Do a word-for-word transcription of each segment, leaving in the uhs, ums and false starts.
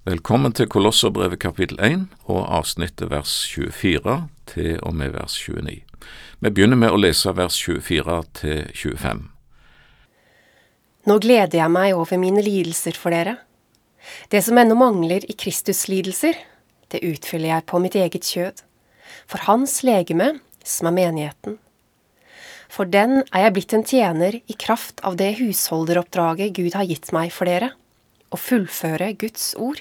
Velkommen til Kolosserbrevet kapittel én og avsnittet vers tjuefire til og med vers tjueni. Vi begynner med å lese vers tjuefire til tjuefem. Nå gleder jeg meg over mine lidelser for dere. Det som ennå mangler i Kristus lidelser, det utfyller jeg på mitt eget kjød, for hans legeme, som er menigheten. For den er jeg blitt en tjener i kraft av det husholderoppdraget Gud har gitt meg for dere, å fullføre Guds ord.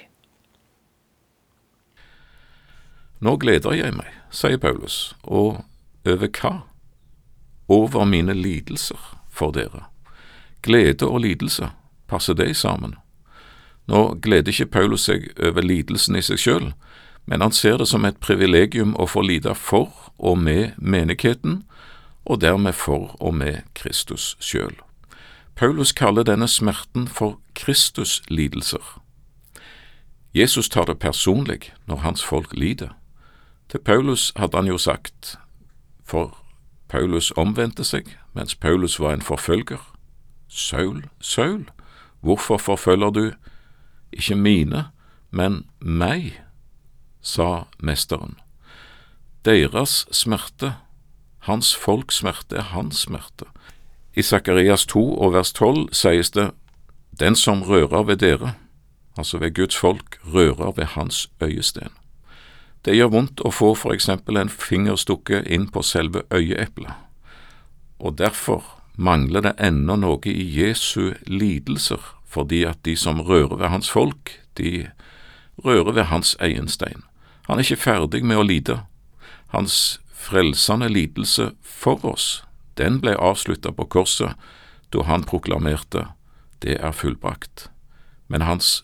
Nå gleder jeg meg, sier Paulus, og over hva? Over mine lidelser for dere. Glede og lidelse, passer det sammen? Nå gleder ikke Paulus seg over lidelsen i seg selv, men han ser det som et privilegium å få lide for og med menigheten, og dermed for og med Kristus selv. Paulus kaller denne smerten for Kristus lidelser. Jesus tar det personlig når hans folk lider. Til Paulus hadde han jo sagt, for Paulus omvendte seg mens Paulus var en forfølger. Saul, Saul, hvorfor forfølger du ikke mine, men meg, sa mesteren. Deres smerte, hans folks smerte er hans smerte. I Sakarias to og vers tolv sies det, den som rører ved dere, altså ved Guds folk, rører ved hans øyesten. Det gjør vondt å få for eksempel en fingerstukke inn på selve øyeeplet, og derfor mangler det ennå noe i Jesu lidelser, fordi at de som rører ved hans folk, de rører ved hans egenstein. Han er ikke ferdig med å lide. Hans frelsende lidelse for oss, den ble avsluttet på korset, da han proklamerte, det er fullbrakt. Men hans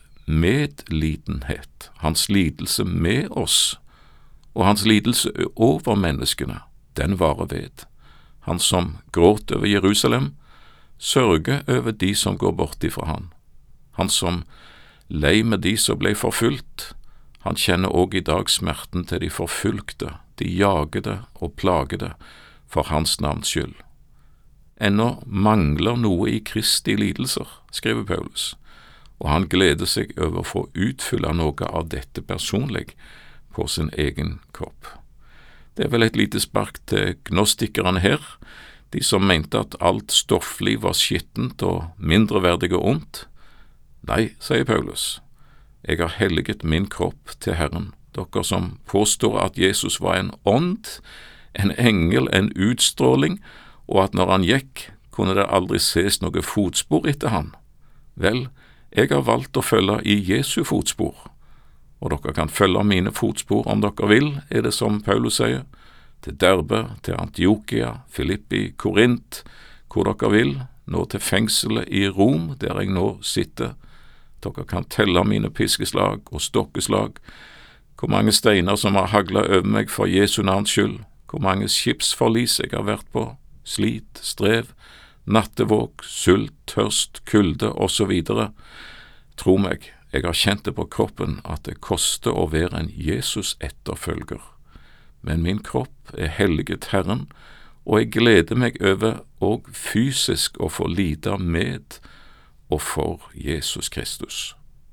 medlidenhet, hans lidelse med oss, og hans lidelse over menneskene, den varer ved. Han som gråt over Jerusalem, sørger over de som går bort ifra han. Han som lei med de som ble forfulgt, han kjenner også i dag smerten til de forfulgte, de jagede og plagede, for hans navns skyld. Ennå mangler noe i Kristi lidelser, skriver Paulus, og han gleder seg over å få utfylle noe av dette personlig, på sin egen kropp. Det er vel et lite spark til gnostikerne her, de som mente at alt stoffliv var skittent og mindreverdig og ondt. Nei, sier Paulus, jeg har helliget min kropp til Herren, dere som påstår at Jesus var en ånd, en engel, en utstråling, og at når han gikk, kunne det aldri ses noe fotspor etter han. Vel, jeg har valgt å følge i Jesu fotspor, og dere kan følge mine fotspor om dere vil, er det som Paulus sier, til Derbe, til Antiokia, Filippi, Korint, hvor dere vil, nå til fengselet i Rom, der jeg nå sitter. Dere kan telle mine piskeslag og stokkeslag, hvor mange steiner som har haglet over meg for Jesu navns skyld, hvor mange skipsforlis jeg har vært på, slit, strev, nattevåk, sult, tørst, kulde og så videre. Tro meg, jeg har kjent det på kroppen at det koster å være en Jesus etterfølger. Men min kropp er helliget Herren, og jeg gleder meg over og fysisk å få lide med og for Jesus Kristus.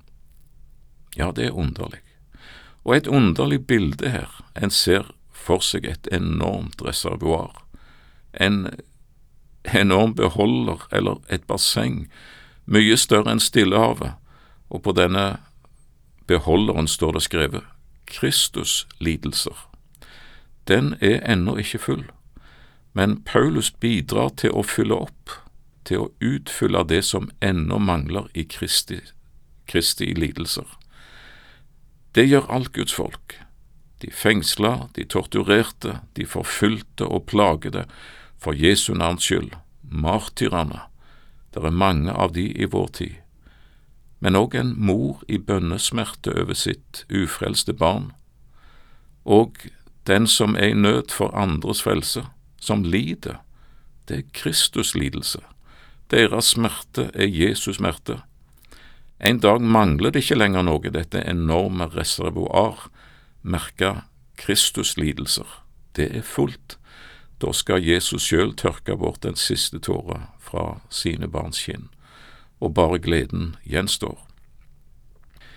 Ja, det er underlig. Og et underlig bilde her. En ser for seg et enormt reservoar, en enorm beholder eller et basseng, mye større enn Stillehavet, og på denne beholderen står det skrevet Kristus lidelser. Den er ennå ikke full, men Paulus bidrar til å fylle opp, til å utfylle det som ennå mangler i Kristi, Kristi lidelser. Det gjør alt Guds folk. De fengsla, de torturerte, de forfulgte og plagede for Jesu navns skyld, martyrene. Det er mange av de i vår tid. Men også en mor i bønnesmerte over sitt ufrelste barn, og den som er i nød for andres frelse, som lider, det er Kristus lidelse. Deres smerte er Jesus smerte. En dag mangler det ikke lenger noe, dette enorme reservoar, merket Kristus lidelser. Det er fullt. Da skal Jesus selv tørke bort den siste tåra fra sine barns kinn, og bare gleden gjenstår.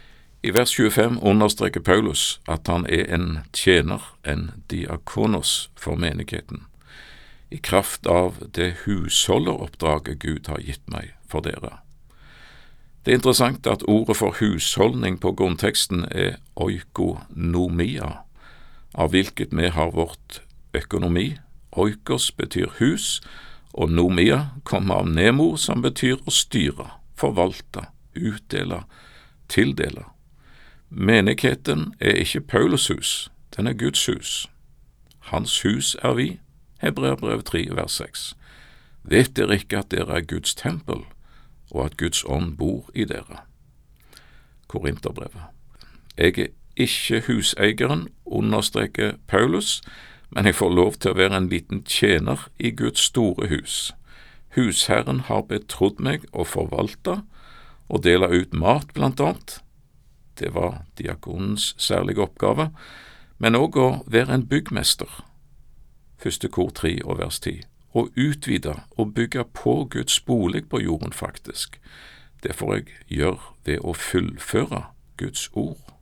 I vers tjuefem understreker Paulus at han er en tjener, en diakonos for menigheten, i kraft av det husholderoppdraget Gud har gitt meg for dere. Det er interessant at ordet for husholdning på grunnteksten er oikonomia, av hvilket vi har vårt økonomi. Oikos betyr hus, og nomia kommer av nemo, som betyr å styre, forvalte, utdele, tildele. Menigheten er ikke Paulus hus, den er Guds hus. Hans hus er vi, Hebreerbrev tre, vers seks. Vet dere ikke at dere er Guds tempel, og at Guds ånd bor i dere? Korinterbrevet. Jeg er ikke huseieren, understreker Paulus, men jeg får lov til å være en liten tjener i Guds store hus. Husherren har betrodd meg å forvalte og dele ut mat, blant annet. Det var diakonens særlige oppgave, men også å være en byggmester. Første kor tre og vers ti. Å utvide og bygge på Guds bolig på jorden, faktisk. Det får jeg gjøre ved å fullføre Guds ord.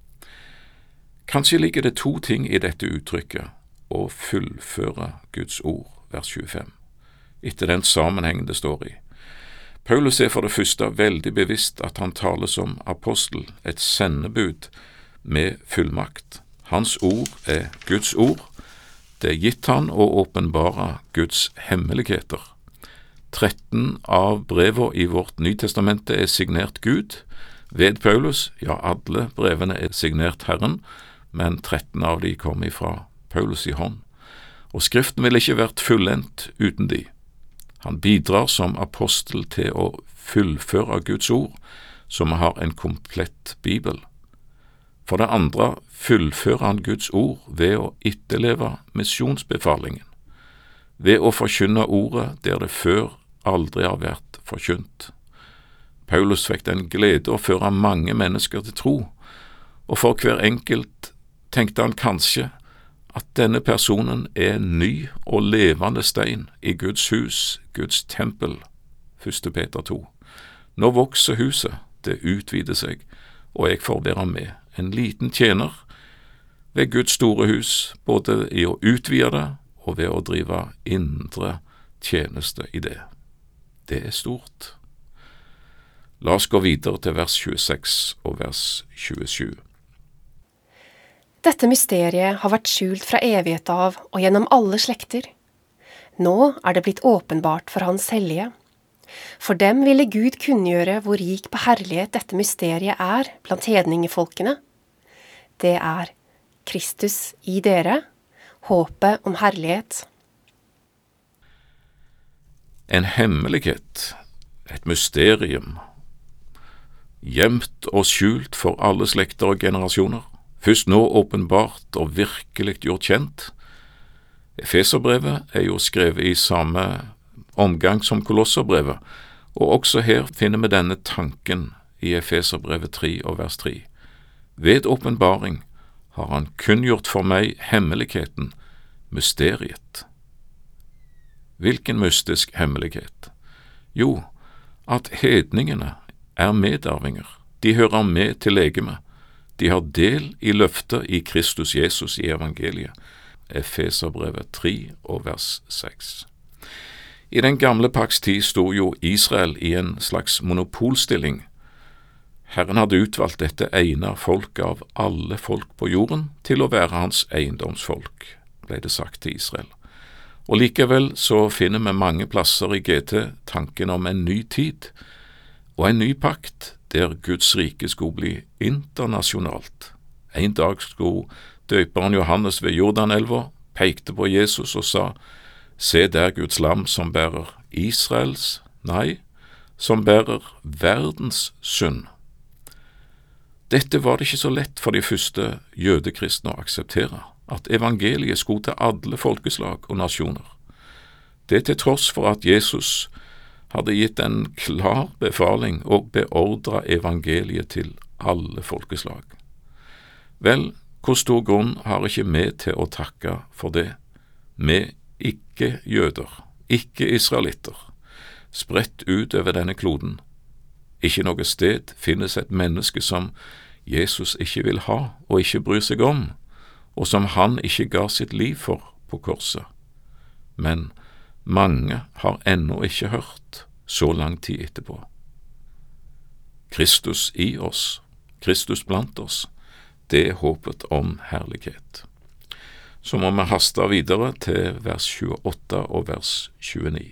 Kanskje ligger det to ting i dette uttrykket, å fullføre Guds ord, vers tjuefem, etter den sammenhengen det står i. Paulus er for det første veldig bevisst at han taler som apostel, et sendebud med fullmakt. Hans ord er Guds ord. Det er gitt han å åpenbare Guds hemmeligheter. tretten av brevene i vårt Nytestamentet er signert Gud ved Paulus. Ja, alle brevene er signert Herren, men tretten av de kom ifra Paulus i hånd. Og Skriften ville ikke vært fullendt uten de. Han bidrar som apostel til å fullføre Guds ord, så vi har en komplett bibel. For det andre fullfører han Guds ord ved å etterleve misjonsbefalingen, ved å forkynne ordet der det før aldri har vært forkynt. Paulus fikk den glede å føre mange mennesker til tro, og for hver enkelt tenkte han kanskje at denne personen er en ny og levende stein i Guds hus, Guds tempel, første Peter to. Nå vokser huset, det utvider seg, og jeg får være med, en liten tjener ved Guds store hus, både i å utvide det og ved å drive indre tjeneste i det. Det er stort. La oss gå videre til vers tjueseks og vers tjuesju. Dette mysteriet har vært skjult fra evighet av og gjennom alle slekter. Nå er det blitt åpenbart for Hans hellige. For dem ville Gud kunngjøre hvor rik på herlighet dette mysteriet er blant hedningefolkene. Det er Kristus i dere, håpet om herlighet. En hemmelighet, et mysterium, gjemt og skjult for alle slekter og generasjoner, først nå åpenbart og virkelig gjort kjent. Efeserbrevet er jo skrevet i samme omgang som Kolosserbrevet, og også her finner vi denne tanken i Efeserbrevet tre og vers tre. Ved åpenbaring har han kunngjort for meg hemmeligheten, mysteriet. Hvilken mystisk hemmelighet? Jo, at hedningene er medarvinger. De hører med til legemet. De har del i løftet i Kristus Jesus i evangeliet. Efeserbrevet tre og vers seks. I den gamle pakts tid stod jo Israel i en slags monopolstilling. Herren hadde utvalgt dette ene folket av alle folk på jorden til å være hans eiendomsfolk, ble det sagt til Israel. Og likevel så finner vi mange plasser i G T tanken om en ny tid, og en ny pakt der Guds rike skulle bli internasjonalt. En dag skulle døperen Johannes ved Jordanelva pekte på Jesus og sa, se der Guds lam som bærer Israels, nei, som bærer verdens synd. Dette var det ikke så lett for de første jødekristne å akseptere, at evangeliet skulle til alle folkeslag og nasjoner. Det til tross for at Jesus hadde gitt en klar befaling og beordret evangeliet til alle folkeslag. Vel, hvor stor grunn har ikke vi til å takke for det? Vi ikke-jøder, ikke-israelitter, spredt ut over denne kloden. Ikke noe sted finnes et menneske som Jesus ikke vil ha og ikke bryr seg om, og som han ikke ga sitt liv for på korset. Men mange har ennå ikke hørt så lang tid etterpå. Kristus i oss, Kristus blant oss, det er håpet om herlighet. Så må vi haste videre til vers tjueåtte og vers tjueni.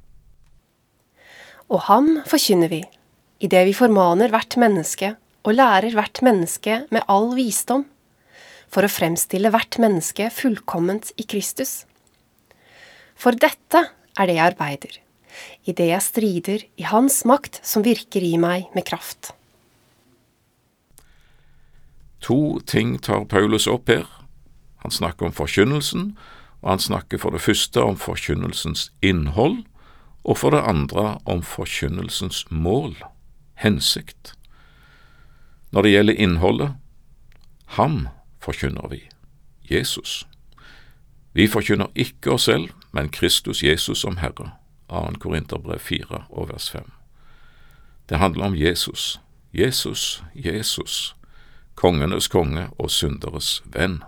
Og ham forkynner vi, i det vi formaner hvert menneske og lærer hvert menneske med all visdom, for å fremstille hvert menneske fullkomment i Kristus. For dette er det jeg arbeider, i det jeg strider i hans makt som virker i meg med kraft. To ting tar Paulus opp her. Han snakker om forkynnelsen, og han snakker for det første om forkynnelsens innhold, og for det andre om forkynnelsens mål, hensikt. Når det gjelder innholdet, ham forkynner vi, Jesus. Vi forkynner ikke oss selv, men Kristus Jesus som Herre, Annen Korinterbrev fire og vers fem. Det handler om Jesus, Jesus, Jesus, kongenes konge og synderes venn.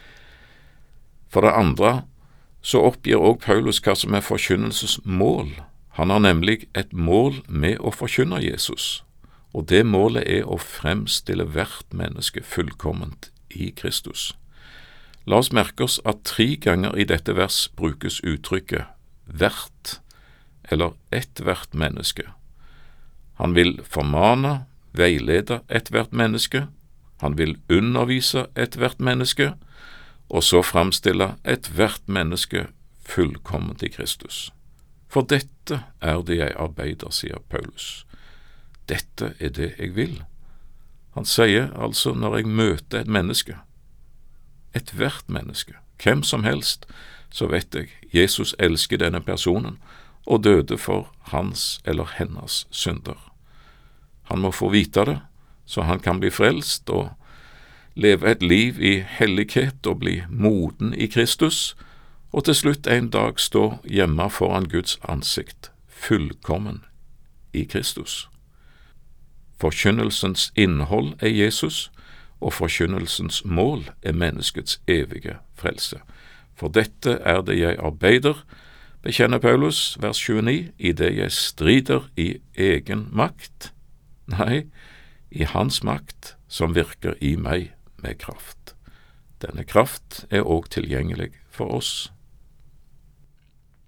For det andre så oppgir også Paulus hva som er forkynnelses mål. Han har nemlig et mål med å forkynne Jesus, og det målet er å fremstille hvert menneske fullkomment i Kristus. La oss merke oss at tre ganger i dette vers brukes uttrykket hvert, eller ethvert menneske. Han vil formane, veilede ethvert menneske, han vil undervise ethvert menneske, og så fremstille ethvert menneske fullkomment i Kristus. For dette er det jeg arbeider, sier Paulus. Dette er det jeg vil. Han sier altså når jeg møter et menneske, ethvert menneske, hvem som helst, så vet jeg Jesus elsker denne personen og døde for hans eller hennes synder. Han må få vite det, så han kan bli frelst og leve et liv i hellighet og bli moden i Kristus, og til slutt en dag stå hjemme foran Guds ansikt, fullkommen i Kristus. Forkynnelsens innhold er Jesus, og forkynnelsens mål er menneskets evige frelse. For dette er det jeg arbeider, bekjenner Paulus, vers tjueni, i det jeg strider i egen makt, nei, i hans makt som virker i meg med kraft. Denne kraft er også tilgjengelig for oss